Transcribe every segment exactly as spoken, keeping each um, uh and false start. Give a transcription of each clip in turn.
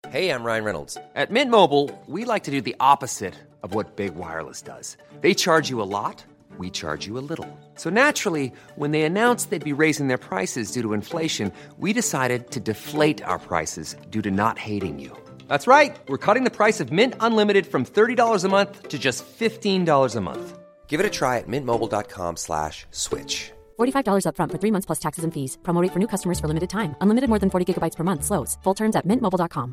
Hey, I'm Ryan Reynolds. At Mint Mobile, we like to do the opposite of what Big Wireless does. They charge you a lot, we charge you a little. So naturally, when they announced they'd be raising their prices due to inflation, we decided to deflate our prices due to not hating you. That's right. We're cutting the price of Mint Unlimited from thirty dollars a month to just fifteen dollars a month. Give it a try at mintmobile.com slash switch. forty-five dollars up front for three months plus taxes and fees. Promo rate for new customers for limited time. Unlimited more than forty gigabytes per month. Slows full terms at mint mobile dot com.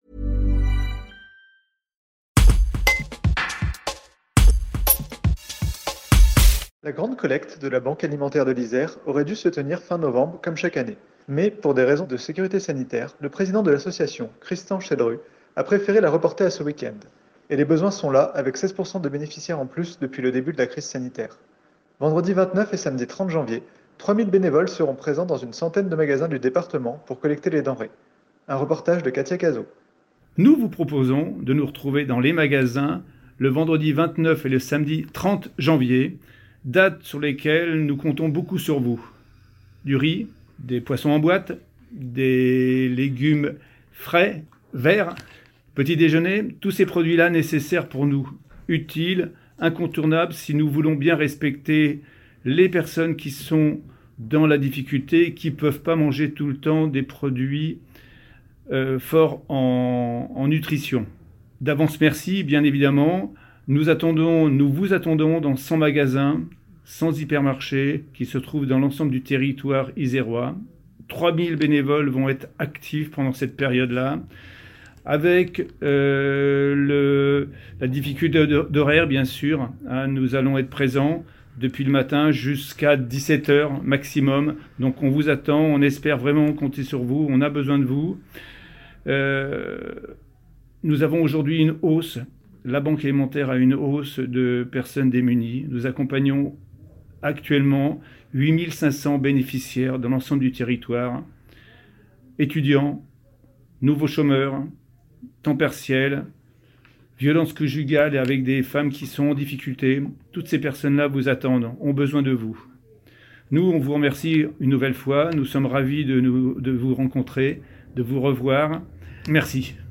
La grande collecte de la Banque alimentaire de l'Isère aurait dû se tenir fin novembre, comme chaque année. Mais, pour des raisons de sécurité sanitaire, le président de l'association, Christian Chedru, a préféré la reporter à ce week-end. Et les besoins sont là, avec seize pour cent de bénéficiaires en plus depuis le début de la crise sanitaire. Vendredi vingt-neuf et samedi trente janvier, trois mille bénévoles seront présents dans une centaine de magasins du département pour collecter les denrées. Un reportage de Katia Cazot. Nous vous proposons de nous retrouver dans les magasins le vendredi vingt-neuf et le samedi trente janvier, dates sur lesquelles nous comptons beaucoup sur vous. Du riz, des poissons en boîte, des légumes frais, verts, petit déjeuner, tous ces produits-là nécessaires pour nous, utiles, incontournables si nous voulons bien respecter les personnes qui sont dans la difficulté, qui ne peuvent pas manger tout le temps des produits euh, forts en, en nutrition. D'avance merci, bien évidemment. Nous attendons, nous vous attendons dans cent magasins, cent hypermarchés qui se trouvent dans l'ensemble du territoire isérois. trois mille bénévoles vont être actifs pendant cette période-là. Avec euh, le, la difficulté d'horaire, bien sûr, hein, nous allons être présents depuis le matin jusqu'à dix-sept heures maximum. Donc on vous attend, on espère vraiment compter sur vous, on a besoin de vous. Euh, nous avons aujourd'hui une hausse. La Banque alimentaire a une hausse de personnes démunies. Nous accompagnons actuellement huit mille cinq cents bénéficiaires dans l'ensemble du territoire. Étudiants, nouveaux chômeurs, temps partiel, violences conjugales et avec des femmes qui sont en difficulté. Toutes ces personnes-là vous attendent, ont besoin de vous. Nous, on vous remercie une nouvelle fois. Nous sommes ravis de, nous, de vous rencontrer, de vous revoir. Merci.